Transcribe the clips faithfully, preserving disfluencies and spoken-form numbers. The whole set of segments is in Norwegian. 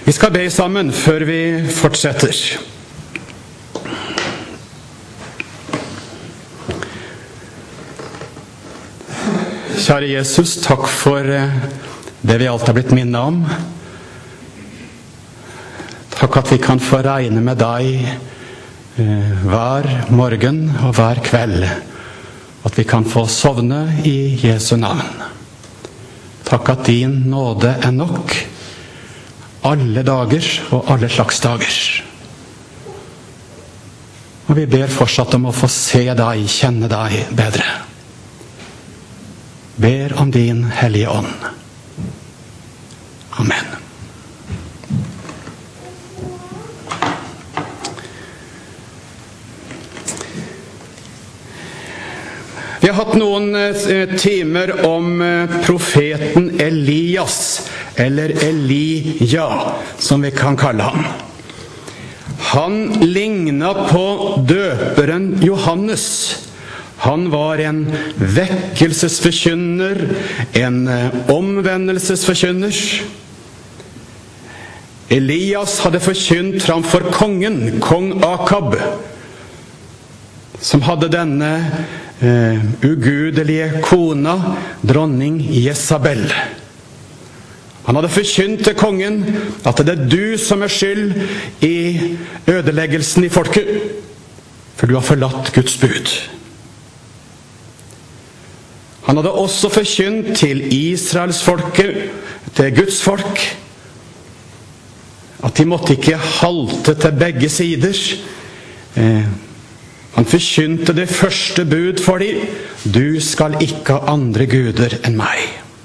Vi skal be sammen før vi fortsetter. Kjære Jesus, takk for det vi alt har blitt minnet om. Takk at vi kan få regne med deg hver morgen og hver kveld. At vi kan få sovne i Jesu navn. Takk at din nåde er nok alle dager og alle slags dager. Og vi ber fortsatt om å få se deg, kjenne deg bedre. Ber om din hellige ånd. Amen. Vi har hatt noen timer om profeten Elias, eller Elia, som vi kan kalle ham. Han lignet på døperen Johannes. Han var en vekkelsesforkynner, en omvendelsesforkynner. Elias hadde forkynt framfor kongen, kong Akab, som hadde denne uh, ugudelige kona, dronning Jezabel. Han hadde forkynt til kongen at det er du som er skyld i ødeleggelsen i folket, for du har forlatt Guds bud. Han hadde også forkynt til Israels folket, til Guds folk, at de måtte ikke halte til begge sider. Eh, han forkynte det første bud for dem: du skal ikke ha andre guder enn meg.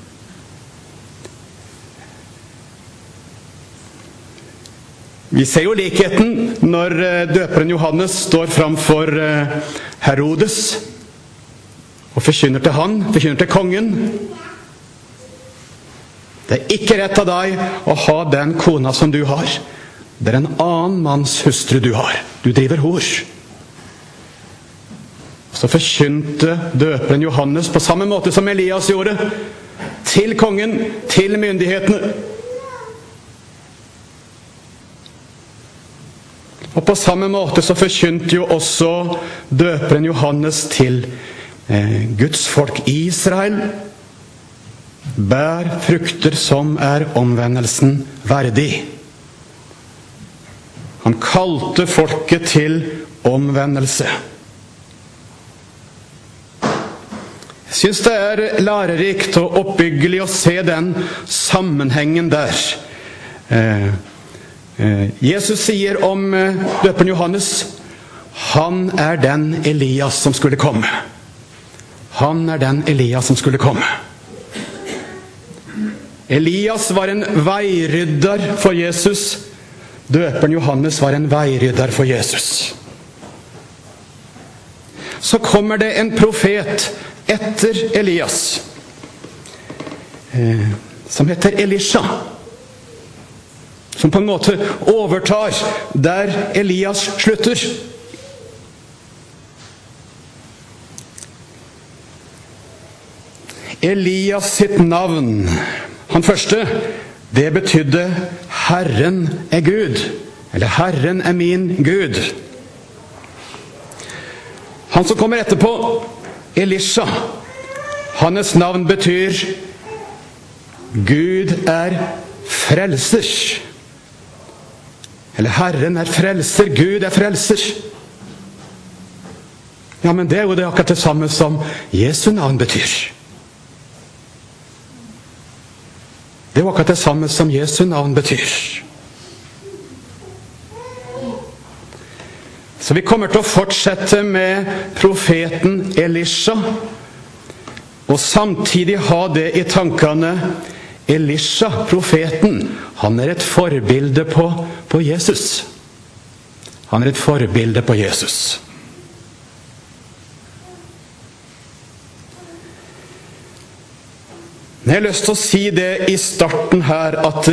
Vi ser jo likheten når døperen Johannes står framfor Herodes og forkynner til han, forkynner til kongen. Det er ikke rett av deg å ha den kona som du har. Det er en annen manns hustru du har. Du driver hor. Så forkynte døperen Johannes på samme måte som Elias gjorde, til kongen, til myndighetene. Og på samme måte så forkynte jo også døperen Johannes til eh, Guds folk Israel. Bær frukter som er omvendelsen verdig. Han kalte folket til omvendelse. Jeg synes det er lærerikt og oppbyggelig å se den sammenhengen der. Eh, Jesus sier om døperen Johannes: han er den Elias som skulle komme. Han er den Elias som skulle komme. Elias var en veirydder for Jesus. Døperen Johannes var en veirydder for Jesus. Så kommer det en profet etter Elias, eh, som heter Elisha, som på en måte overtar der Elias slutter. Elias sitt navn, han første, det betydde Herren er Gud, eller Herren er min Gud. Han som kommer etterpå, Elisha, hans navn betyr Gud er frelser. Eller Herren er frelser, Gud er frelser. Ja, men det er jo det akkurat det samme som Jesu navn betyr. Det er jo akkurat det samme som Jesu navn betyr. Så vi kommer til å fortsette med profeten Elisha, og samtidig ha det i tankene. Elisha, profeten, han er et forbilde på, på Jesus. Han er et forbilde på Jesus. Jeg har lyst til å si det i starten her, at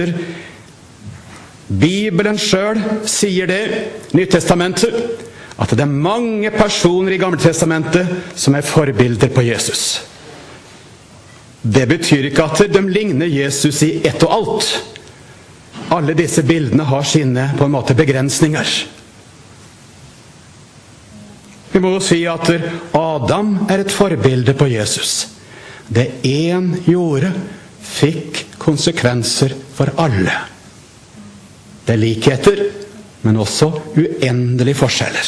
Bibelen selv sier det, Nytestamentet, at det er mange personer i Gamle Testamentet som er forbilder på Jesus. Det betyr ikke at de ligner Jesus i ett og alt. alle disse bildene har sine på en måte begrensninger. Vi må jo si at Adam er et forbilde på Jesus. Det en gjorde fikk konsekvenser for alle. Det er likheter, men også uendelige forskjeller.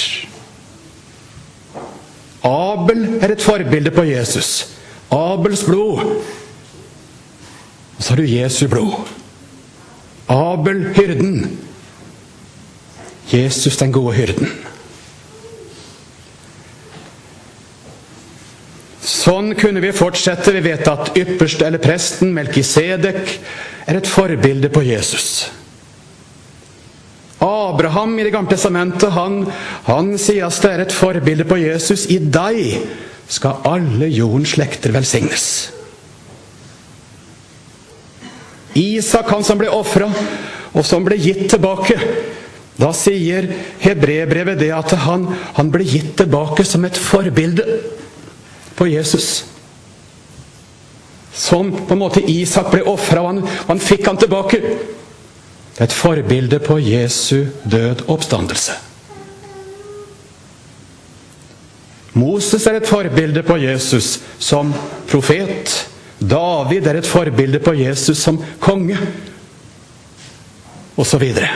Abel er et forbilde på Jesus. Abels blod. Og så har du Jesu blod. Abel, hyrden. Jesus, den gode hyrden. Sånn kunne vi fortsette. Vi vet at ypperste eller presten, Melkisedek, er et forbilde på Jesus. Abraham i det gamle testamentet, han, han sies det er et forbilde på Jesus. I deg skal alle jordens slekter velsignes. Isak, han som ble offret, og som ble gitt tilbake. Da sier Hebreerbrevet det at han, han ble gitt tilbake som et forbilde på Jesus. Som på en måte Isak ble offret, og han, han fikk han tilbake. Det er et forbilde på Jesu død og oppstandelse. Moses er et forbilde på Jesus som profet. David er et forbilde på Jesus som konge. Og så videre.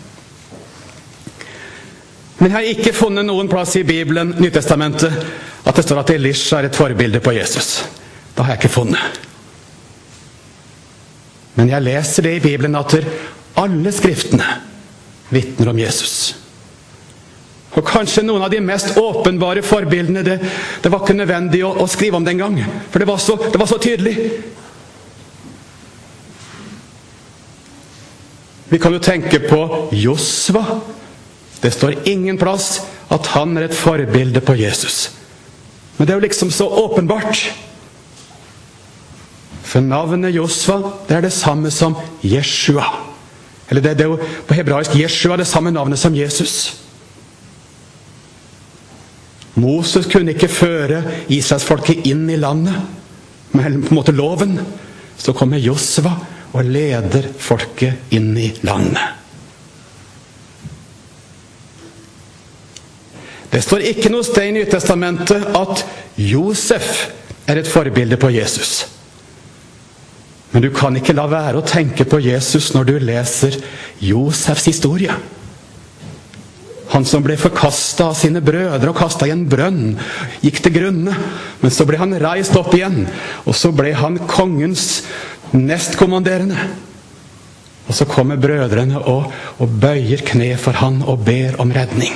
Men jeg har ikke funnet noen plass i Bibelen, Nytestamentet, at det står at Elisha er et forbilde på Jesus. Det har jeg ikke funnet. Men jeg leser det i Bibelen at alle skriftene vittner om Jesus. Og kanskje noen av de mest åpenbare forbildene, det, det var ikke nødvendig å, å skrive om den gang, for det var så, det var så tydelig. Vi kan jo tenke på Josva. Det står ingen plass at han er et forbilde på Jesus. Men det er jo liksom så åpenbart. For navnet Josva, det er det samme som Jeshua. Eller det, det er jo på hebraisk Jeshua, det samme navnet som Jesus. Moses kunne ikke føre Israelsfolket inn i landet med på en måte loven. Så kommer Josva og leder folket inn i landet. Det står ikke noe sted i Nytestamentet at Josef er et forbilde på Jesus. Men du kan ikke la være å tenke på Jesus når du leser Josefs historie. Han som ble forkastet av sine brødre og kastet i en brønn, gikk til grunne. Men så ble han reist opp igjen, og så ble han kongens nestkommanderende. Og så kommer brødrene og, og bøyer kne for han og ber om redning.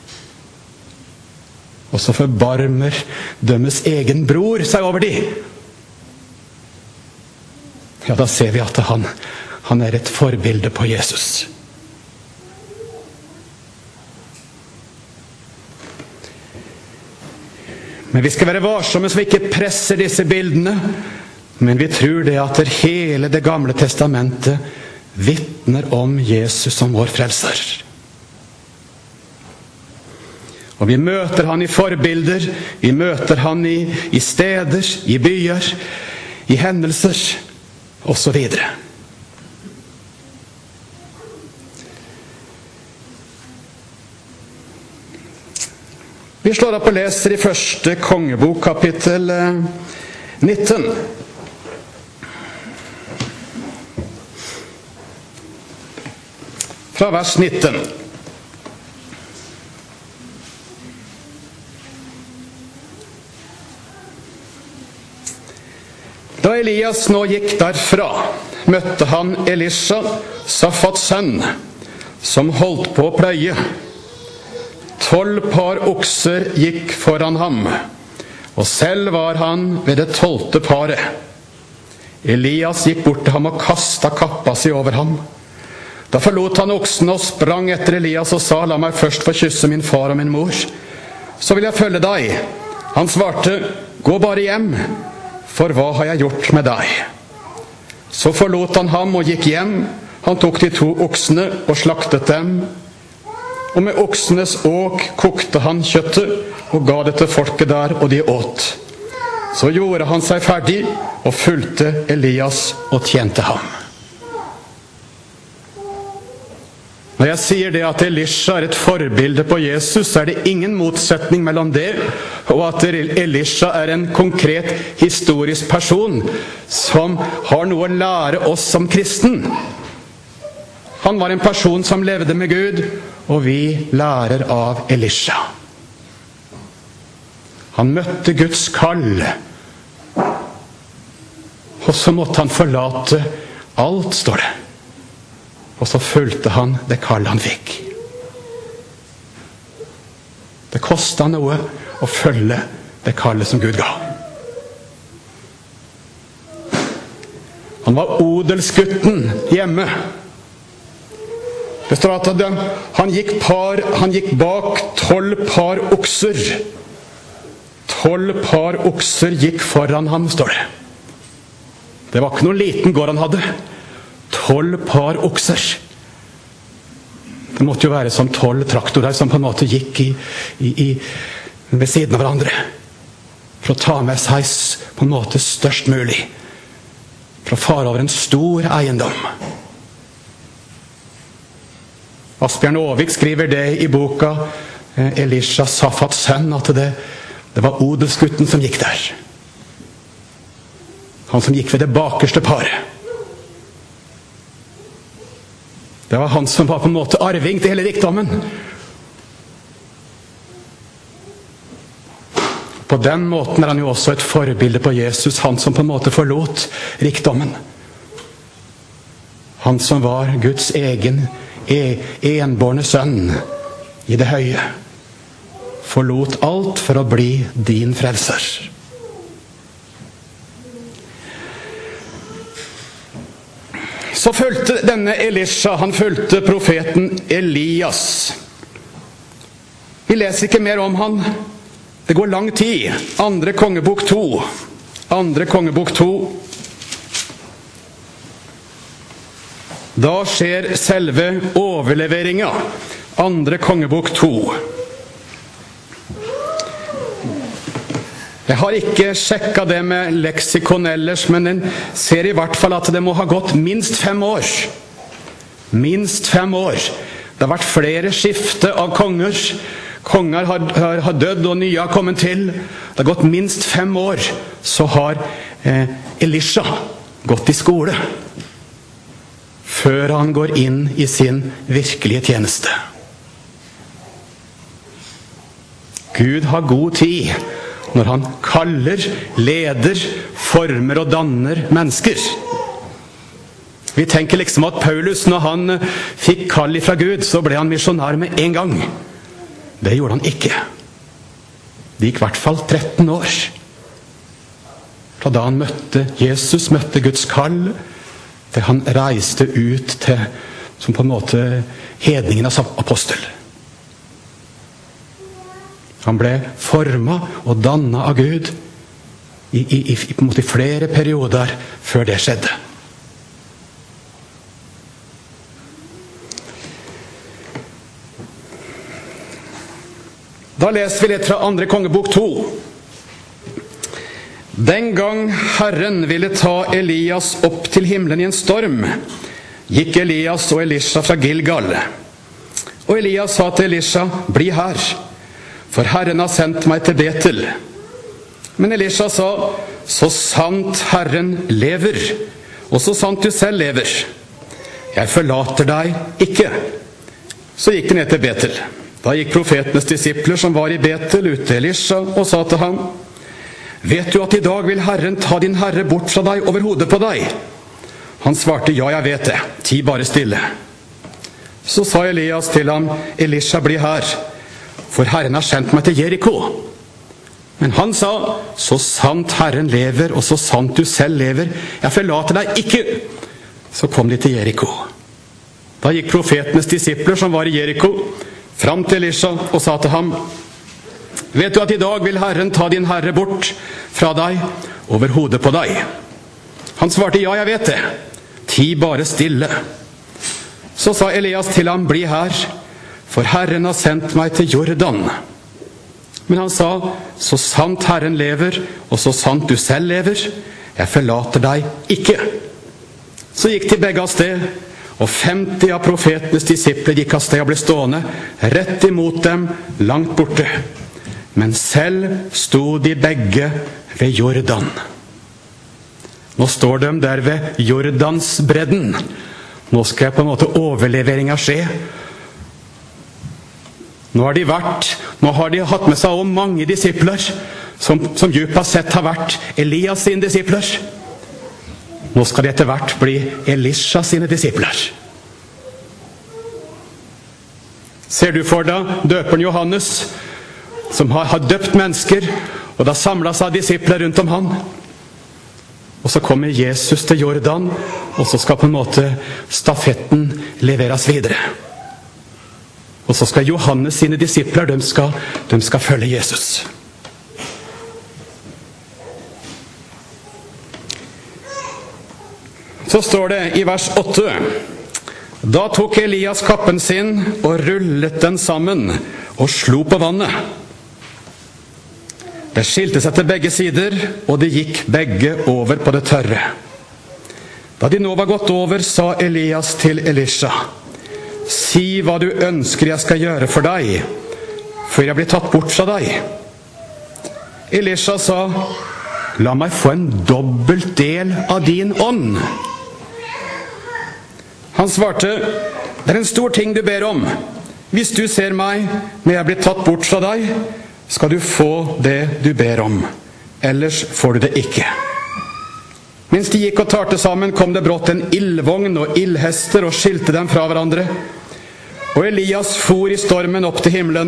Og så forbarmer dømmes egen bror seg over de. Ja, da ser vi at han, han er et forbilde på Jesus. Men vi skal være varsomme så vi ikke presser disse bildene. Men vi tror det at hele det gamle testamentet vittner om Jesus som vår frelser. Og vi møter han i forbilder, vi møter han i, i steder, i byer, i hendelser, og så videre. Vi slår opp og leser i første kongebok, kapittel nitten. Fra vers nitten. Da Elias nå gikk derfra, møtte han Elisha, Safats sønn, som holdt på å pløye. Tolv par okser gikk foran ham, og selv var han ved det tolvte paret. Elias gikk bort til ham og kastet kappa si over ham. Da forlot han oksene og sprang etter Elias og sa, la meg først få kysse min far og min mor. Så vil jeg følge deg. Han svarte, gå bare hjem, for hva har jeg gjort med deg? Så forlot han ham og gikk hjem. Han tok de to oksene og slaktet dem. Og med oksenes åk kokte han kjøttet og ga det til folket der, og de åt. Så gjorde han seg ferdig og fulgte Elias og tjente ham. Når jeg sier det at Elisha er et forbilde på Jesus, så er det ingen motsetning mellom det og at Elisha er en konkret historisk person som har noe å lære oss som kristen. Han var en person som levde med Gud, og vi lærer av Elisha. Han møtte Guds kall, og så måtte han forlate alt, står det. Og så fulgte han det kall han fikk. Det kostet noe å følge det kallet som Gud ga. Han var odelsgutten hjemme. Det står at han gikk, par, han gikk bak tolv par okser. Tolv par okser gikk foran ham, står det. Det var ikke noen liten gård han hadde. Tolv par okser. Det måtte jo være som tolv traktorer som på en måte gikk i, i, i, ved siden av hverandre. For å ta med seg på en måte størst mulig. For å fare over en stor eiendom. Asbjørn Aavik skriver det i boka Elisha Safats sønn, at det, det var odelsgutten som gikk der. Han som gikk ved det bakerste paret. Det var han som var på en måte arving til hele rikdommen. På den måten er han jo også et forbilde på Jesus, han som på en måte forlot rikdommen. Han som var Guds egen e enbårne sønn i det høye. Forlot alt for å bli din frelser. Så fulgte denne Elisha, han fulgte profeten Elias. Vi leser ikke mer om han. Det går lang tid. Andre kongebok to. Andre kongebok to. Da skjer selve overleveringa. Andre kongebok to. Jeg har ikke sjekket det med leksikon ellers, men den ser i hvert fall at det må ha gått minst fem år. Minst fem år. Det har vært flere skifte av konger. Konger har, har, har dødd, og nye har kommet til. Det har gått minst fem år. Så har eh, Elisha gått i skole. Før han går inn i sin virkelige tjeneste. Gud har god tid når han kaller, leder, former og danner mennesker. Vi tenker liksom at Paulus, når han fikk kall fra Gud, så ble han misjonær med en gang. Det gjorde han ikke. Det gikk i hvert fall tretten år. Fra da han møtte Jesus, møtte Guds kall, til han reiste ut til, som på en måte, hedningenes apostel. Han ble formet og dannet av Gud i, i, i, på en måte, i flere perioder før det skjedde. Da leser vi litt fra andre kongebok to. Den gang Herren ville ta Elias opp til himmelen i en storm, gikk Elias og Elisha fra Gilgal. Og Elias sa til Elisha, bli her, for Herren har sendt meg til Betel. Men Elisha sa, så sant Herren lever, og så sant du selv lever. Jeg forlater deg ikke. Så gikk de ned til Betel. Da gikk profetenes disipler som var i Betel ut til Elisha og sa til ham, vet du at i dag vil Herren ta din herre bort fra deg over hodet på deg? Han svarte, ja, jeg vet det. Ti bare stille. Så sa Elias til ham, Elisha, bli her, for Herren har sendt meg til Jericho. Men han sa, så sant Herren lever, og så sant du selv lever, jeg forlater deg ikke. Så kom de til Jericho. Da gikk profetenes disipler som var i Jericho, fram til Elisha og sa til ham, vet du at i dag vil Herren ta din herre bort fra deg over hodet på deg? Han svarte, ja, jeg vet det. Ti bare stille. Så sa Elias til ham, bli her, for Herren har sendt meg til Jordan. Men han sa, så sant Herren lever, og så sant du selv lever, jeg forlater deg ikke. Så gikk de begge av sted, og femti av profetenes disipler gikk av sted og ble stående rett imot dem, langt borte. Men selv sto de begge ved Jordan. Nå står de der ved Jordansbredden. Nå skal på en måte overleveringen skje. Nå har de vært, nå har de hatt med seg også mange disipler, som, som djupest sett har vært Elias sine disipler. Nå skal de etter hvert bli Elisha sine disipler. Ser du for deg døperen Johannes, som har, har døpt mennesker, og da samlet seg disipler rundt om han. Og så kommer Jesus til Jordan, og så skal på en måte stafetten leveres videre. Og så skal Johannes sine disipler, de skal, de skal følge Jesus. Så står det i vers åtte. Da tok Elias kappen sin og rullet den sammen og slo på vannet. Det skilte seg til begge sider, og de gikk begge over på det tørre. Da de nå var gått over, sa Elias til Elisha: si hva du ønsker jeg skal gjøre for deg, før jeg blir tatt bort fra deg. Elisha sa: la meg få en dobbelt del av din ånd. Han svarte: det er en stor ting du ber om. Hvis du ser meg når jeg blir tatt bort fra deg, skal du få det du ber om. Ellers får du det ikke. Mens de gikk og talte sammen, kom det brått en ildvogn og ildhester og skilte dem fra hverandre. Og Elias for i stormen opp til himmelen.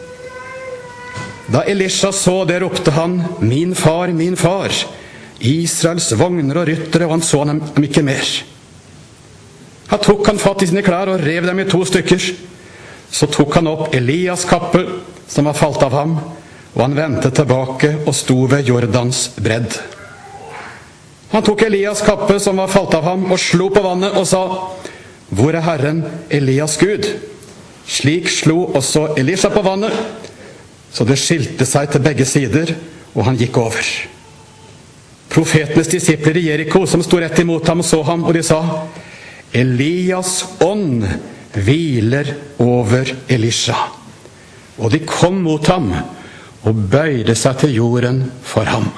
Da Elisha så det, ropte han: min far, min far, Israels vogner og ryttere, og han så dem ikke mer. Han tok han fatt i sine klær og rev dem i to stykker. Så tok han opp Elias kappe, som var falt av ham, og han vendte tilbake og sto ved Jordans bredd. Han tok Elias kappe, som var falt av ham, og slo på vannet og sa: hvor er Herren, Elias Gud? Slik slo også Elisha på vannet, så det skilte seg til begge sider, og han gikk over. Profetenes disipler i Jericho, som sto rett imot ham, så ham, og de sa: Elias ånd hviler over Elisha. Og de kom mot ham og bøyde seg til jorden for ham.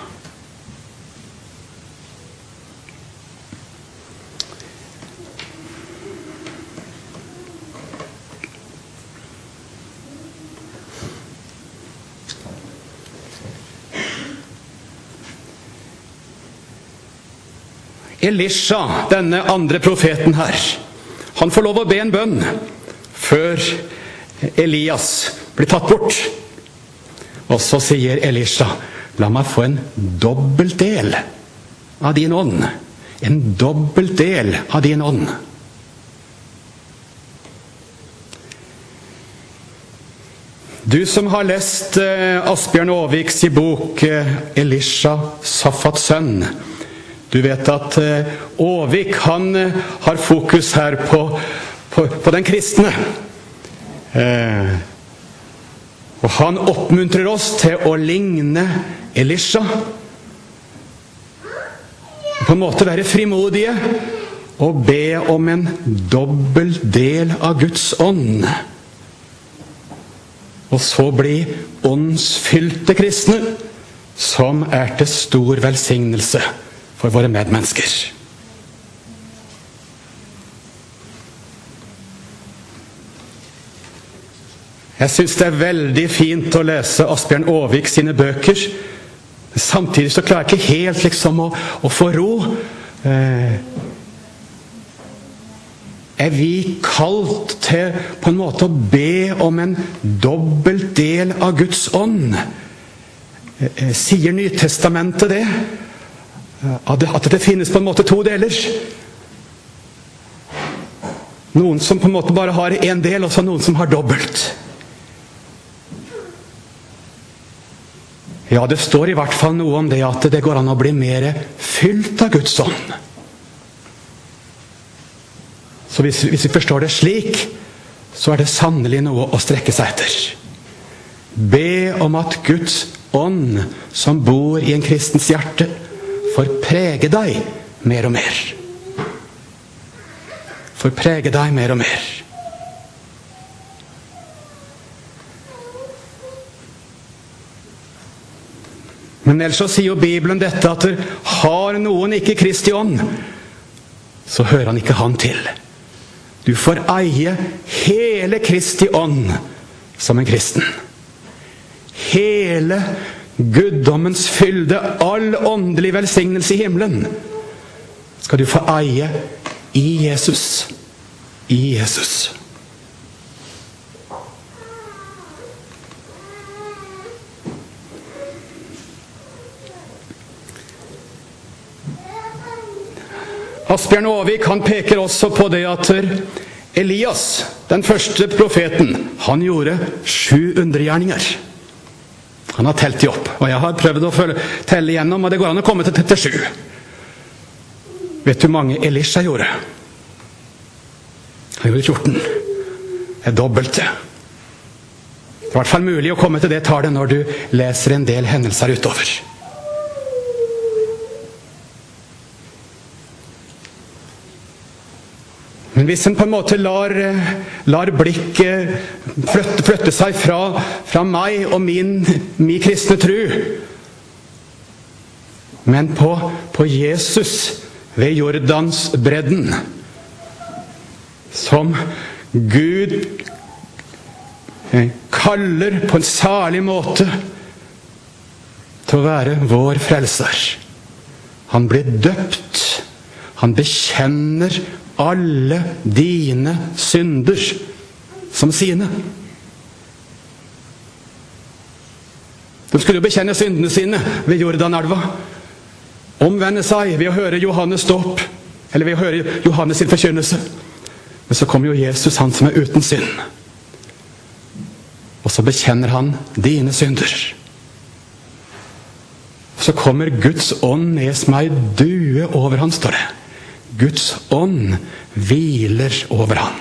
Elisha, denne andre profeten her, han får lov å be en bønn før Elias blir tatt bort. Og så sier Elisha: la meg få en dobbelt del av din ånd. En dobbelt del av din ånd. Du som har lest eh, Asbjørn Aavviks i bok eh, Elisha, Safats sønn, du vet at eh, Aavvik, han eh, har fokus her på, på, på den kristne. Eh, og han oppmuntrer oss til å ligne Elisha. På en måte være frimodige og be om en dobbel del av Guds ånd. Og så bli åndsfylte kristne, som er til stor velsignelse for våre medmennesker. Jeg synes det er veldig fint å lese Asbjørn Aavvik sine bøker. Samtidig så klarer jeg ikke helt liksom å, å få ro. Eh, er vi kalt til på en måte å be om en dobbelt del av Guds ånd? Eh, sier Nytestamentet det? At det? At det finnes på en måte to deler? Noen som på en måte bare har en del, og så noen som har dobbelt. Ja, det står i hvert fall noe om det, at det går an å bli mer fylt av Guds ånd. Så hvis, hvis vi forstår det slik, så er det sannelig noe å strekke seg etter. Be om at Guds ånd, som bor i en kristens hjerte, får prege deg mer og mer. får prege deg mer og mer. Men ellers så sier jo Bibelen dette at har noen ikke Kristi ånd, så hører han ikke han til. Du får eie hele Kristi ånd som en kristen. Hele guddommens fylde, all åndelig velsignelse i himmelen, skal du få eie i Jesus. I Jesus. Asbjørn Aavik, han peker også på det at Elias, den første profeten, han gjorde sju undergjerninger. Han har telt de opp, og jeg har prøvd å følge, telle igjennom, og det går an å komme til trettisju. Vet du hvor mange Elisha gjorde? Han gjorde fjorten. Det er dobbelt det. Det er i hvert fall mulig å komme til det tallet når du leser en del hendelser utover. Men hvis en på en måte lar, lar blikket flytte, flytte seg fra, fra meg og min, min kristne tro, men på, på Jesus ved Jordans bredden, som Gud kaller på en særlig måte til å være vår frelser. Han blir døpt. Han bekjenner alle dine synder som sine. De skulle jo bekjenne syndene sine ved Jordanelva. Omvende seg ved å høre Johannes dåp, eller ved å høre Johannes sin forkynnelse. Men så kommer jo Jesus, han som er uten synd. Og så bekjenner han dine synder. Og så kommer Guds ånd ned som ei due over han, står det. Guds ånd hviler over han.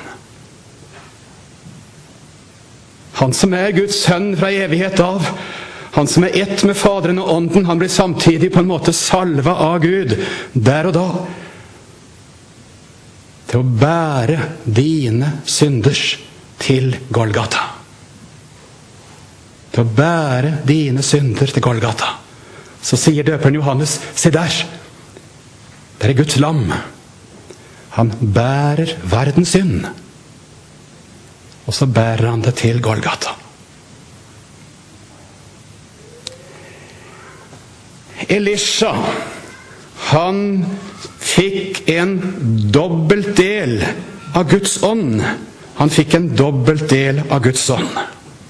Han som er Guds sønn fra evighet av, han som er ett med Faderen og Ånden, han blir samtidig på en måte salva av Gud, der og da, til å bære dine synders til Golgata. Til å bære dine synder til Golgata. Så sier døperen Johannes, se der, der er Guds lam. Han bærer verdens synd. Og så bærer han det til Golgata. Elisha, han fikk en dobbelt del av Guds ånd. Han fikk en dobbelt del av Guds ånd.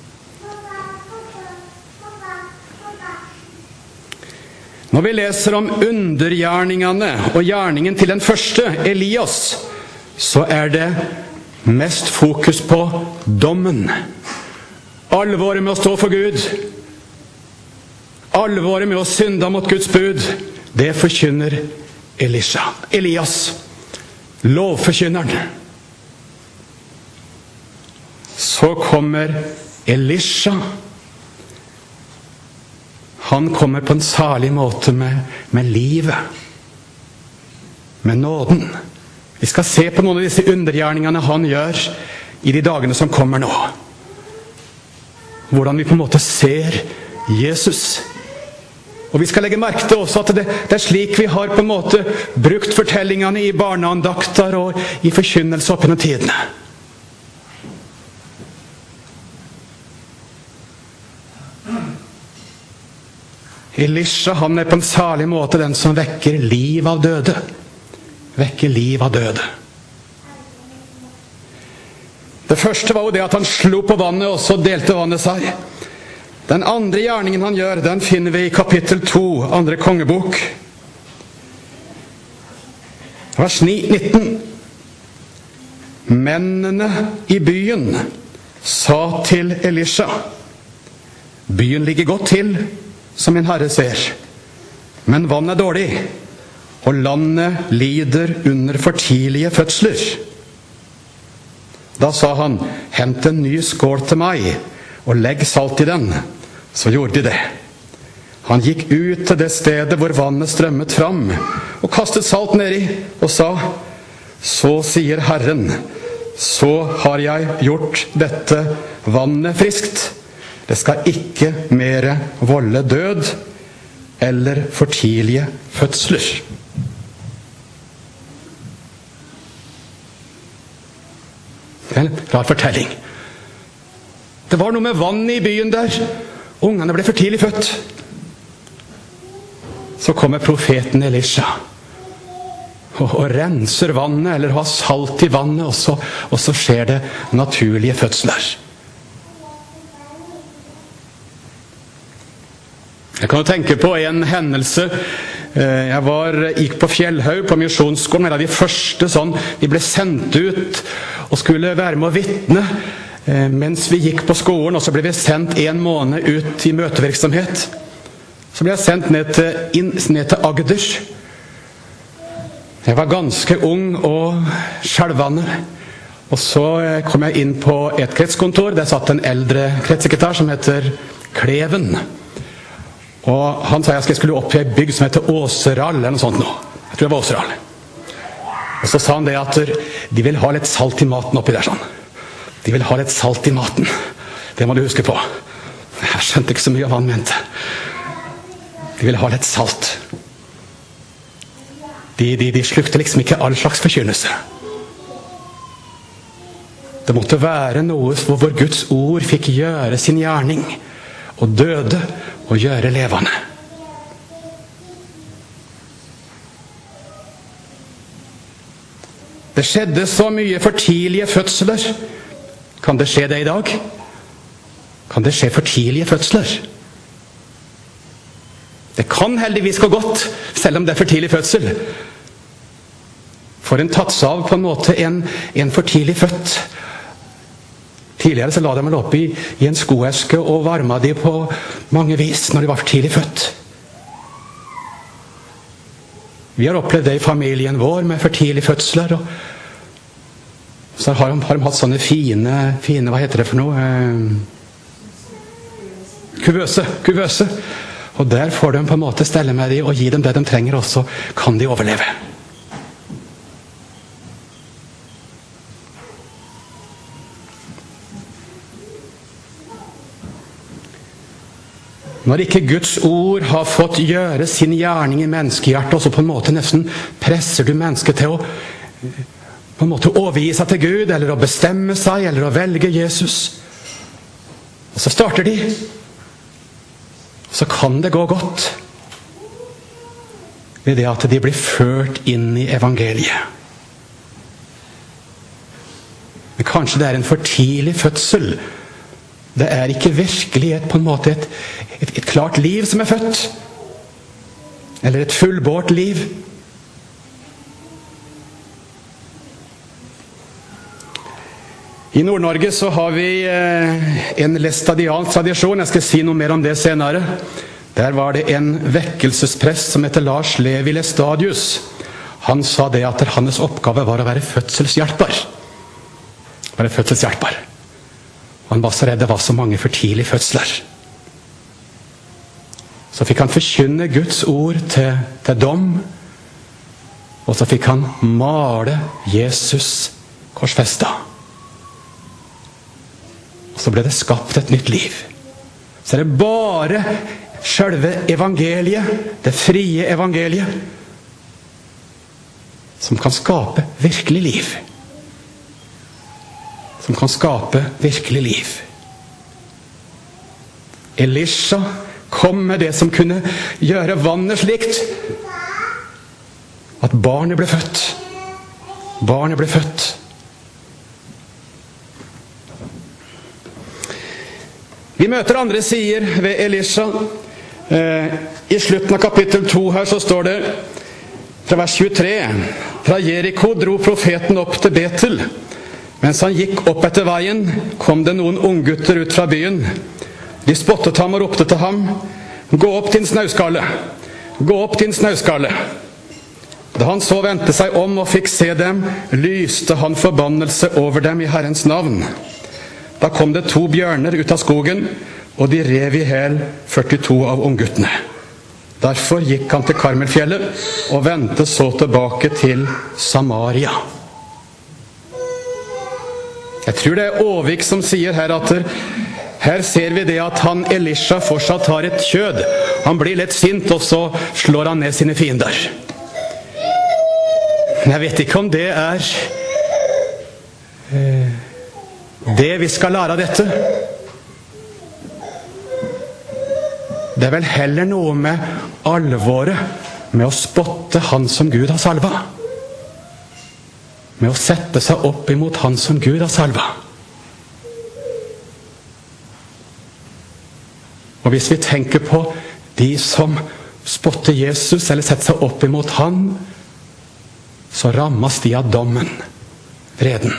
Når vi leser om undergjerningene og gjerningen til den første, Elias, så er det mest fokus på dommen. Alvoret med å stå for Gud. Alvoret med å synde mot Guds bud. Det forkynner Elisha. Elias, lovforkynneren. Så kommer Elisha. Han kommer på en særlig måte med, med livet. Med nåden. Vi skal se på noen av disse undergjerningene han gjør i de dagene som kommer nå. Hvordan vi på en måte ser Jesus. Og vi skal legge merke til også at det, det er slik vi har på en måte brukt fortellingene i barneandakter og i forkynnelse opp gjennom tidene. Elisha, han er på en særlig måte den som vekker liv av døde. Vekker liv av døde. Det første var jo det at han slo på vannet, og så delte vannet seg. Den andre gjerningen han gjør, den finner vi i kapittel to, andre kongebok. Vers nitten. Mennene i byen sa til Elisha, byen ligger godt til, som min herre ser. Men vann er dårlig, og landet lider under for tidlige fødsler. Da sa han, hent en ny skål til meg, og legg salt i den. Så gjorde de det. Han gikk ut til det stedet hvor vannet strømmet fram, og kastet salt nedi, og sa, så sier Herren, så har jeg gjort dette vannet friskt. Det skal ikke mere volde død eller for tidlige fødsler. Det er en rar fortelling. Det var noe med vannet i byen der. Ungene ble for tidlig født. Så kommer profeten Elisha og, og renser vannet, eller har salt i vannet, og så, og så skjer det naturlige fødsler. Jeg kan jo tenke på en hendelse. Jeg var, gikk på Fjellhaug på misjonsskolen, en av de første sånn, vi ble sendt ut og skulle være med å vitne mens vi gikk på skolen, og så ble vi sendt en måned ut i møtevirksomhet. Så ble jeg sendt ned til, inn, ned til Agder. Jeg var ganske ung og skjelvende. Og så kom jeg inn på et kretskontor. Der satt en eldre kretssekretær som heter Kleven. Og han sa jeg skulle opp i en bygg som heter Åseral, eller noe sånt nå. Jeg tror det var Åseral. Og så sa han det at de vil ha litt salt i maten oppi der, sånn. De vil ha litt salt i maten. Det må du huske på. Jeg skjønte ikke så mye av hva han mente. De vil ha litt salt. De, de, de slukte liksom ikke all slags forkynnelse. Det måtte være noe hvor Guds ord fikk gjøre sin gjerning, og døde og gjøre levende. Det skjedde så mye for tidlige fødsler. Kan det skje det i dag? Kan det skje for tidlige fødsler? Det kan heldigvis gå godt, selv om det er for tidlig fødsel. For en tatt seg av på en måte en, en for tidlig født. Tidligere så la de vel opp i, i en skoeske og varma de på mange vis når de var for tidlig født. Vi har opplevd det i familien vår med for tidlig fødsler. Og så har de, har de hatt sånne fine, fine, hva heter det for noe? Kuvøse, kuvøse. Og der får de på en måte stelle med dem og gi dem det de trenger, og så kan de overleve. Når ikke Guds ord har fått gjøre sin gjerning i menneskehjertet, og så på en måte nesten presser du mennesket til å på en måte overgi seg til Gud, eller å bestemme seg, eller å velge Jesus. Og så starter de. Så kan det gå godt ved det at de blir ført inn i evangeliet. Men kanskje det er en for tidlig fødsel. Det er ikke virkelig et, på en måte et, et, et klart liv som er født. Eller et fullbårt liv. I Nord-Norge så har vi en læstadiansk tradisjon. Jeg skal si noe mer om det senere. Der var det en vekkelsesprest som heter Lars Levi Læstadius. Han sa det at hans oppgave var å være fødselshjelper. Være fødselshjelper. Og han var så redd det var så mange for tidlige fødsler. Så fikk han forkynne Guds ord til, til dom. Og så fikk han male Jesus korsfestet. Og så ble det skapt et nytt liv. Så er det bare selve evangeliet, det frie evangeliet, som kan skape virkelig liv. Som kan skape virkelig liv. Elisha kom med det som kunne gjøre vannet slikt at barnet ble født. Barnet ble født. Vi møter andre sider ved Elisha. Eh, I slutten av kapittel to her så står det fra vers tjuetre. Fra Jericho dro profeten opp til Betel. Mens han gikk opp etter veien, kom det noen unggutter ut fra byen. De spottet ham og ropte til ham: «Gå opp din snauskalle! Gå opp din snauskalle!» Da han så vendte seg om og fikk se dem, lyste han forbannelse over dem i Herrens navn. Da kom det to bjørner ut av skogen, og de rev i hel førtito av ungguttene. Derfor gikk han til Karmelfjellet og vendte så tilbake til Samaria. Jeg tror det er Åvik som sier her at her ser vi det at han Elisha fortsatt har et kjød. Han blir litt sint, og så slår han ned sine fiender. Men jeg vet ikke om det er eh, det vi skal lære av dette. Det er vel heller noe med alvoret med å spotte han som Gud har salva. Med å sette seg opp imot han som Gud har salva. Og hvis vi tenker på de som spotter Jesus eller setter seg opp imot han, så rammes de av dommen, vreden.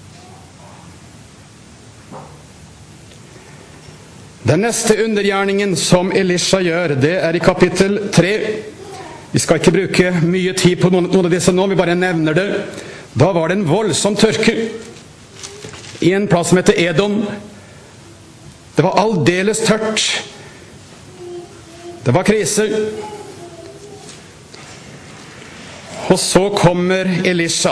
Den neste undergjerningen som Elisha gjør, det er i kapittel tre. Vi skal ikke bruke mye tid på noen, noen av disse nå, vi bare nevner det. Da var det en voldsom tørke i en plass som heter Edom. Det var aldeles tørt. Det var krise. Og så kommer Elisha.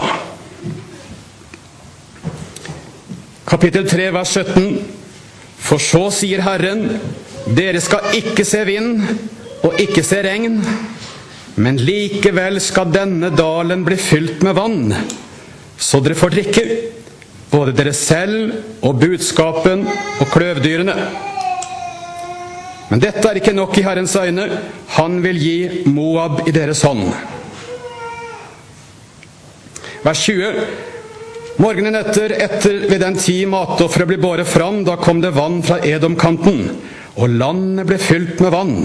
Kapittel tre, vers sytten. For så sier Herren, dere skal ikke se vind og ikke se regn, men likevel skal denne dalen bli fylt med vann, så dere får drikke, både dere selv og budskapen og kløvdyrene. Men dette er ikke nok i Herrens øyne. Han vil gi Moab i deres hånd. Vers tjue. Morgenen etter, etter ved den tid matofferet ble båret fram, da kom det vann fra Edomkanten, og landet ble fylt med vann.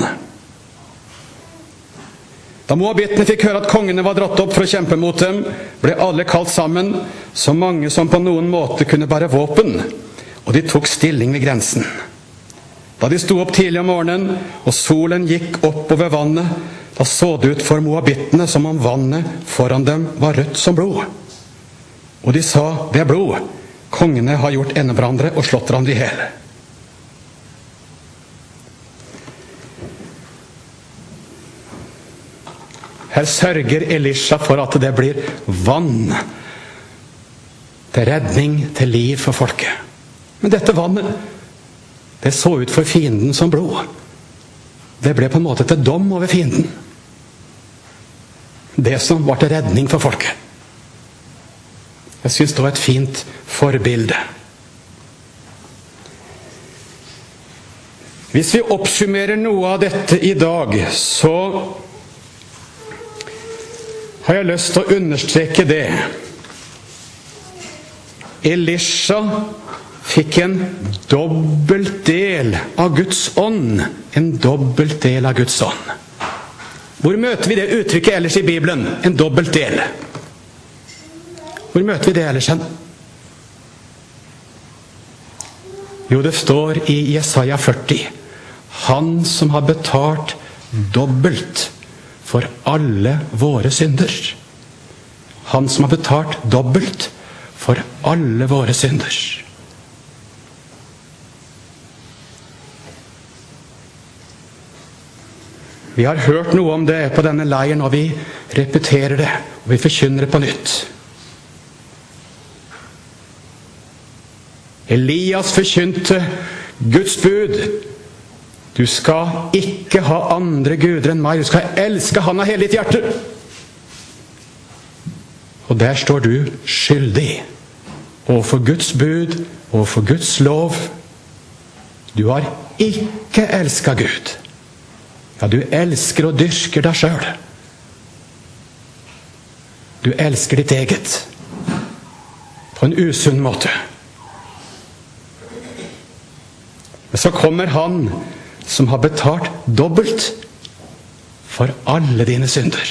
Da moabittene fikk høre at kongene var dratt opp for å kjempe mot dem, ble alle kalt sammen, så mange som på noen måte kunne bære våpen, og de tok stilling ved grensen. Da de sto opp tidlig om morgenen, og solen gikk opp over vannet, da så det ut for moabittene som om vannet foran dem var rødt som blod. Og de sa, det er blod. Kongene har gjort ende hverandre og slått hverandre i hel. Her sørger Elisha for at det blir vann til redning, til liv for folket. Men dette vannet, det så ut for fienden som blod. Det ble på en måte til dom over fienden. Det som var til redning for folket. Jeg synes det var et fint forbilde. Hvis vi oppsummerer noe av dette i dag, så har jeg lyst til å understreke det. Elisha fikk en dobbelt del av Guds ånd. En dobbelt del av Guds ånd. Hvor møter vi det uttrykket ellers i Bibelen? En dobbelt del. Hvor møter vi det ellers hen? Jo, det står i Jesaja førti. Han som har betalt dobbelt for alle våre synder. Han som har betalt dobbelt for alle våre synder. Vi har hørt noe om det på denne leiren, og vi repeterer det, og vi forkynner det på nytt. Elias forkynte Guds bud. Du skal ikke ha andre guder enn meg. Du skal elske han av hele ditt hjerte. Og der står du skyldig. Og for Guds bud, og for Guds lov. Du har ikke elsket Gud. Ja, du elsker og dyrker deg selv. Du elsker ditt eget. På en usunn måte. Men så kommer han som har betalt dobbelt for alle dine synder.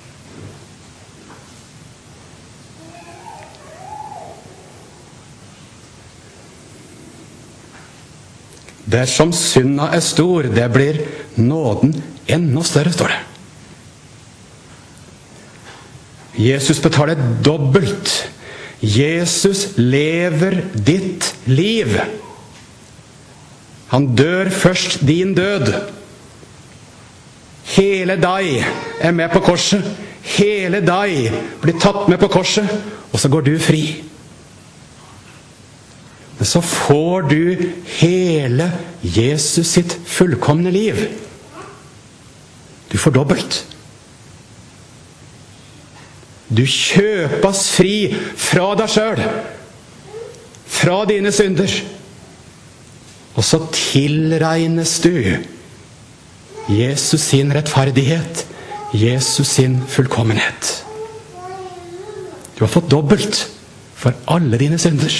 Dersom synda er stor, det blir nåden enda større, står det. Jesus betaler dobbelt. Jesus lever ditt liv. Han dør først din død. Hele deg er med på korset. Hele deg blir tatt med på korset, og så går du fri. Men så får du hele Jesus sitt fullkomne liv. Du får dobbelt. Du kjøpes fri fra deg selv, fra dine synder. Og så tilregnes du Jesus sin rettferdighet, Jesus sin fullkommenhet. Du har fått dobbelt for alle dine synder.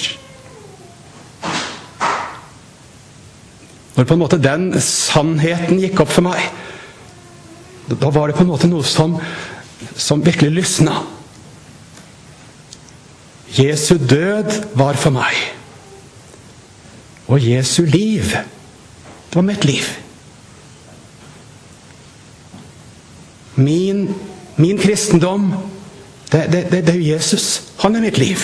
Når på en måte den sannheten gikk opp for meg, da var det på en måte noe som, som virkelig lysna. Jesu død var for meg. Og Jesu liv, det var mitt liv. Min, min kristendom, det, det, det, det er jo Jesus. Han er mitt liv.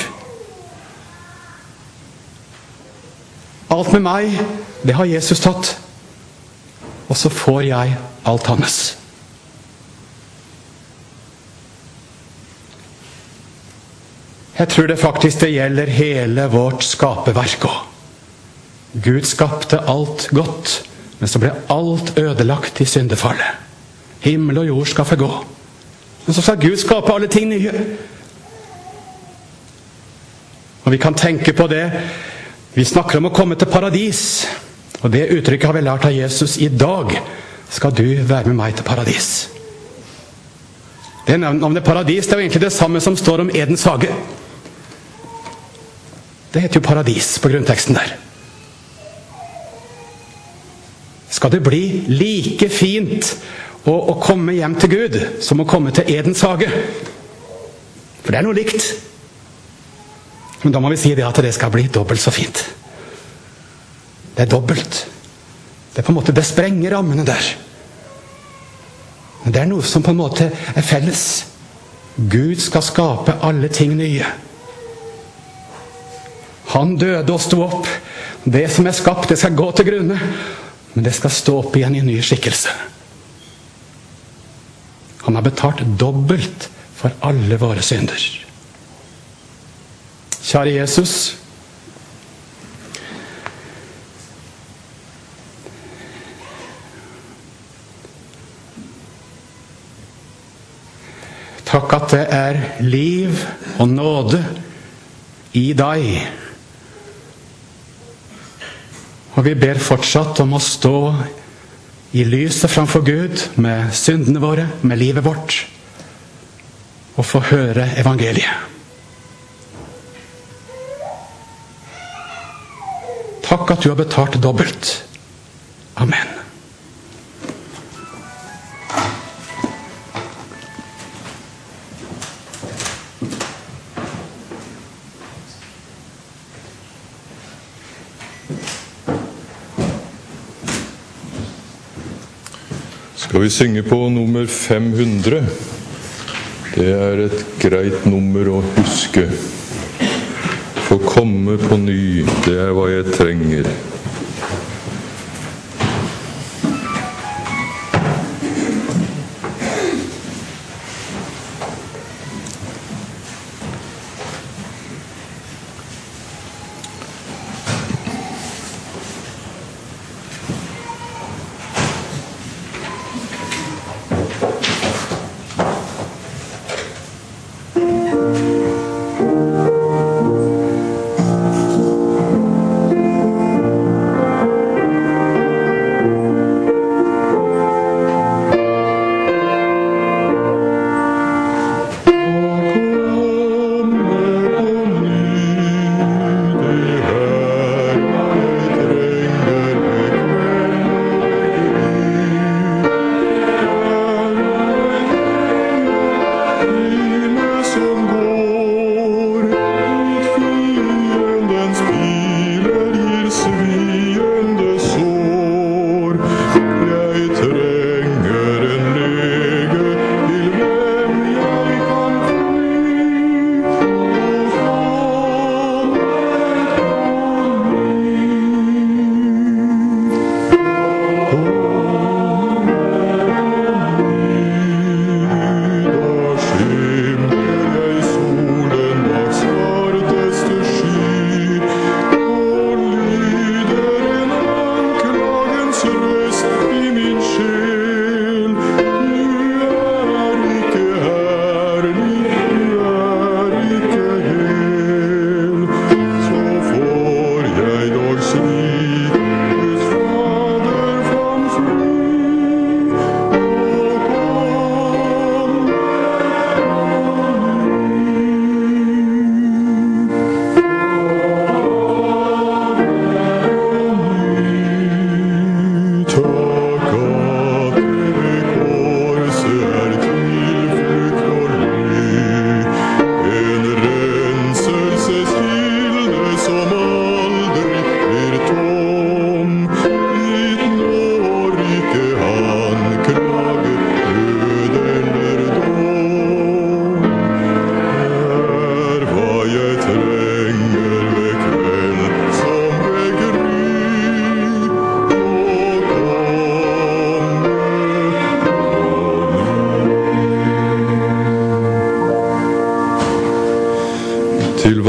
Alt med meg, det har Jesus tatt. Og så får jeg alt hans. Jeg tror det faktisk det gjelder hele vårt skaperverk også. Gud skapte alt godt, men så ble alt ødelagt i syndefallet. Himmel og jord skal forgå. Men så skal Gud skape alle ting nye. Og vi kan tenke på det. Vi snakker om å komme til paradis. Og det uttrykket har vi lært av Jesus. I dag skal du være med meg til paradis. Det navnet paradis, det er jo egentlig det samme som står om Edens hage. Det heter jo paradis på grunnteksten der. Skal det bli like fint å, å komme hjem til Gud som å komme til Edens hage? For det er noe likt. Men da må vi si det at det skal bli dobbelt så fint. Det er dobbelt. Det er på en måte, det sprenger rammene der. Men det er noe som på en måte er felles. Gud skal skape alle ting nye. Han døde og sto opp. Det som er skapt, det skal gå til grunne. Men det skal stå opp igjen i en ny skikkelse. Han har betalt dobbelt for alle våre synder. Kjære Jesus, takk at det er liv og nåde i deg. Og vi ber fortsatt om å stå i lyset framfor Gud med syndene våre, med livet vårt, og få høre evangeliet. Takk at du har betalt dobbelt. Amen. Skal vi synge på nummer fem hundre? Det er et greit nummer å huske. Få komme på ny, det er hva jeg trenger.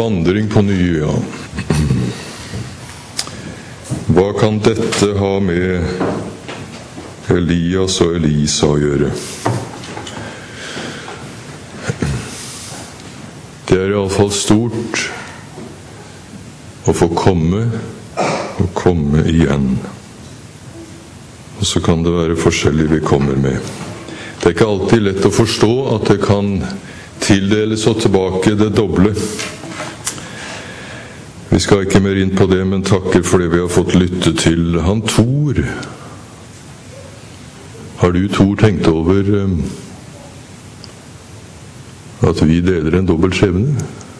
vandring på ny, ja. Hva kan dette ha med Elias og Elisa å gjøre? Det er i alle fall stort å få komme og komme igjen. Og så kan det være forskjellig vi kommer med. Det er ikke alltid lett å forstå at det kan tildeles og tilbake det doble. Vi skal ikke mer inn på det, men takker for det vi har fått lytte til. Han Tor. Har du, Tor, tenkt over at vi deler en dobbelt skjebne?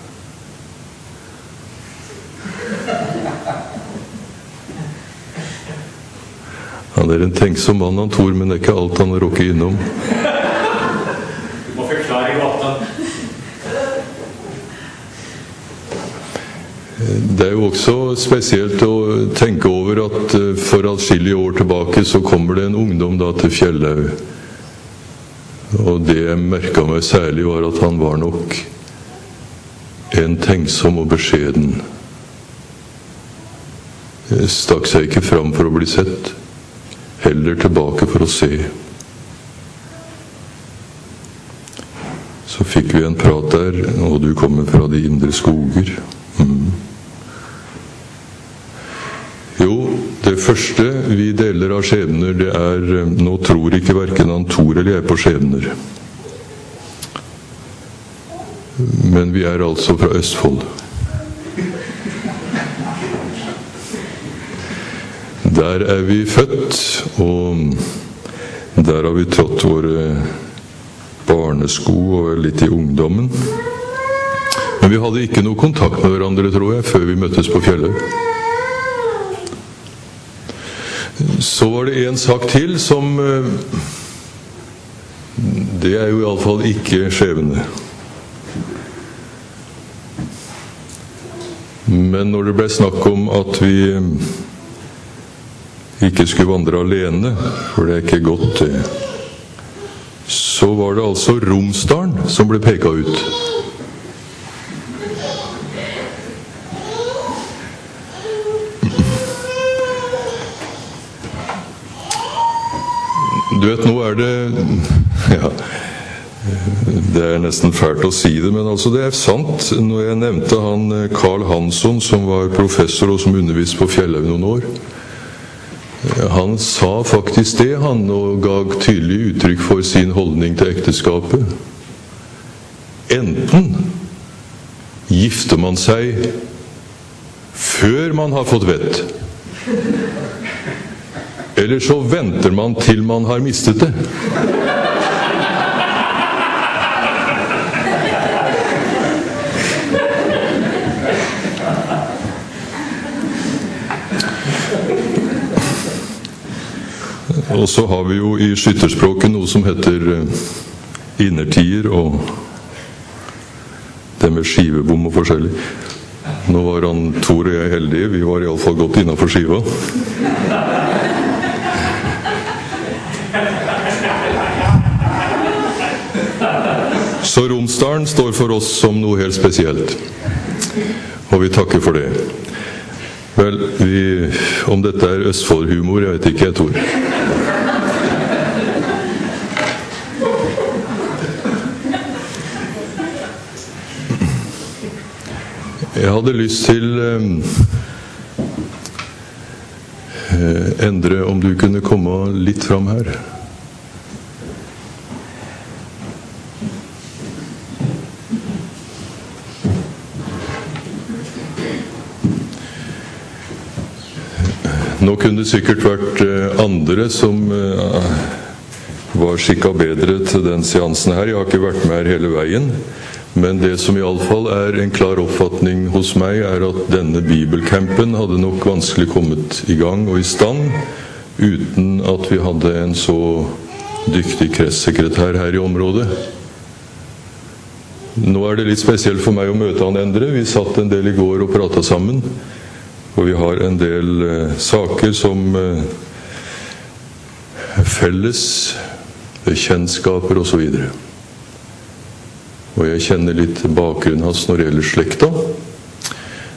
Han er en tenksom mann, han Tor, men det er ikke alt han har råket innom. Du må forklare gåta. Det er jo også spesielt å tenke over at for adskillige år tilbake så kommer det en ungdom da til Fjellhaug. Og det jeg merket meg særlig var at han var nok en tenksom og beskjeden. Stakk seg ikke fram for å bli sett, heller tilbake for å se. Så fikk vi en prat der, og du kommer fra de indre skoger. Mm. Jo, det første vi deler av skjebner, det er, nå tror ikke hverken han Tor eller jeg på skjebner. Men vi er altså fra Østfold. Der er vi født, og der har vi trådt våre barnesko og er litt i ungdommen. Men vi hadde ikke noe kontakt med hverandre, tror jeg, før vi møttes på Fjellhaug. Så var det en sak til som det er jo i alle fall ikke skjebne. Men når det ble snakk om at vi ikke skulle vandre alene, for det er ikke godt det, så var det altså Romsdalen som ble peket ut. Du vet, nå er det ja, det er nesten fælt å si det, men altså det er sant. Når jeg nevnte han Karl Hansson, som var professor og som underviste på Fjellhaug noen år, han sa faktisk det, han, og ga tydelig uttrykk for sin holdning til ekteskapet. Enten gifter man seg før man har fått vett, eller så venter man til man har mistet det. Og så har vi jo i skytterspråket noe som heter innertier, og det med skivebom og forskjellig. Nå var han Tor og jeg heldige, vi var i alle fall godt innenfor skiva. Så Romsdalen står for oss som noe helt spesielt, og vi takker for det. Vel, vi, om dette er Østfold-humor, jeg vet ikke, jeg Tor. Jeg hadde lyst til eh, Endre, om du kunne komme litt fram her. Nå kunne det sikkert vært andre som var skikket bedre til den seansen her. Jeg har ikke vært med her hele veien, men det som i alle fall er en klar oppfatning hos meg, er at denne bibelcampen hadde nok vanskelig kommet i gang og i stand uten at vi hadde en så dyktig kretssekretær her i området. Nå er det litt spesielt for meg å møte han Endre. Vi satt en del i går og pratet sammen. Og vi har en del eh, saker som eh, felles, bekjentskaper og så videre. Og jeg kjenner litt bakgrunnen hans når det gjelder slekta.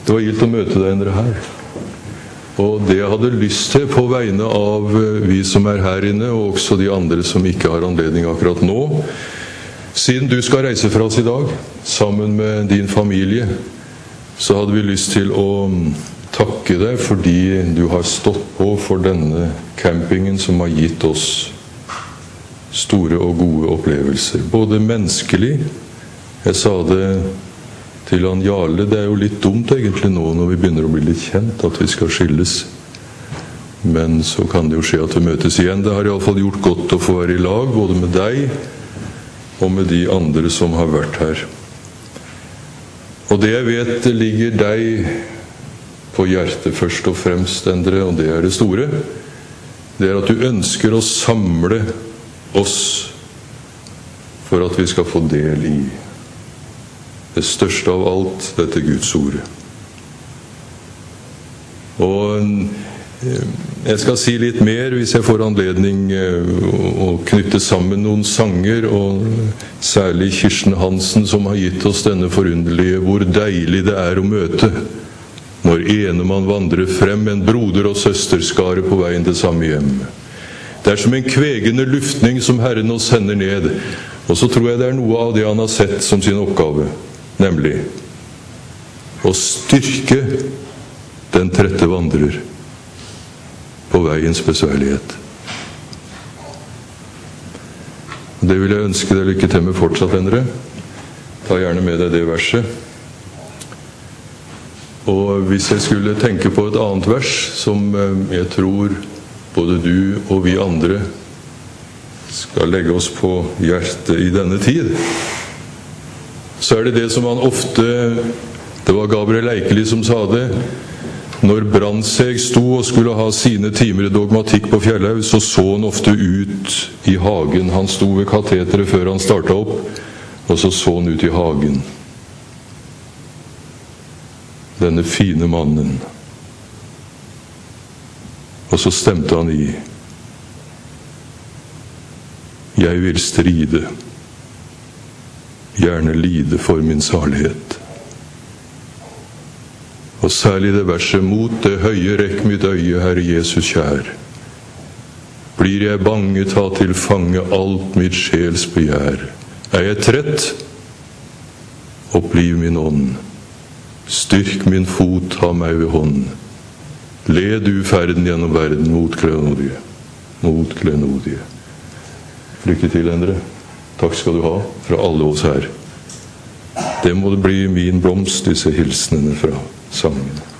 Det var gildt å møte deg Endre her. Og det jeg hadde lyst til på vegne av vi som er her inne, og også de andre som ikke har anledning akkurat nå, siden du skal reise fra oss i dag, sammen med din familie, så hadde vi lyst til å takke deg fordi du har stått på for denne campingen som har gitt oss store og gode opplevelser. Både menneskelig, jeg sa det til han Jarle, det er jo litt dumt egentlig nå når vi begynner å bli litt kjent at vi skal skilles. Men så kan det jo skje at vi møtes igjen. Det har i alle fall gjort godt å få være i lag, både med deg og med de andre som har vært her. Og det jeg vet ligger deg på hjertet først og fremst, Endre, og det er det store, det er at du ønsker å samle oss for at vi skal få del i det største av alt, dette Guds ord. Og jeg skal si litt mer hvis jeg får anledning å knytte sammen noen sanger, og særlig Kirsten Hansen som har gitt oss denne forunderlige hvor deilig det er å møte når ene man vandrer frem, en broder og søsterskare på veien til samme hjem. Det er som en kvegende luftning som Herren oss sender ned, og så tror jeg det er noe av det han har sett som sin oppgave, nemlig å styrke den trette vandrer på veiens besværlighet. Det vil jeg ønske deg lykke til med fortsatt, Endre. Ta gjerne med deg det verset. Og hvis jeg skulle tenke på et annet vers som jeg tror både du og vi andre skal legge oss på hjertet i denne tid, så er det det som han ofte, det var Gabriel Eikeli som sa det, når Brandseg sto og skulle ha sine timer i dogmatikk på Fjellhaug, så så han ofte ut i hagen. Han sto ved kateteret før han startet opp, og så så han ut i hagen. Denne fine mannen. Og så stemte han i: Jeg vil stride, gjerne lide for min salighet. Og særlig det verset: mot det høye rekk mitt øye, Herre Jesus kjær. Blir jeg bange, ta til fange alt mitt sjels begjær. Er jeg trett? Oppliv min ånd. Styrk min fot, ta meg ved hånd. Led du ferden gjennom verden mot klenodige. Mot klenodige. Lykke til, Endre. Takk skal du ha fra alle oss her. Det må det bli min blomst, disse hilsnene fra sangen.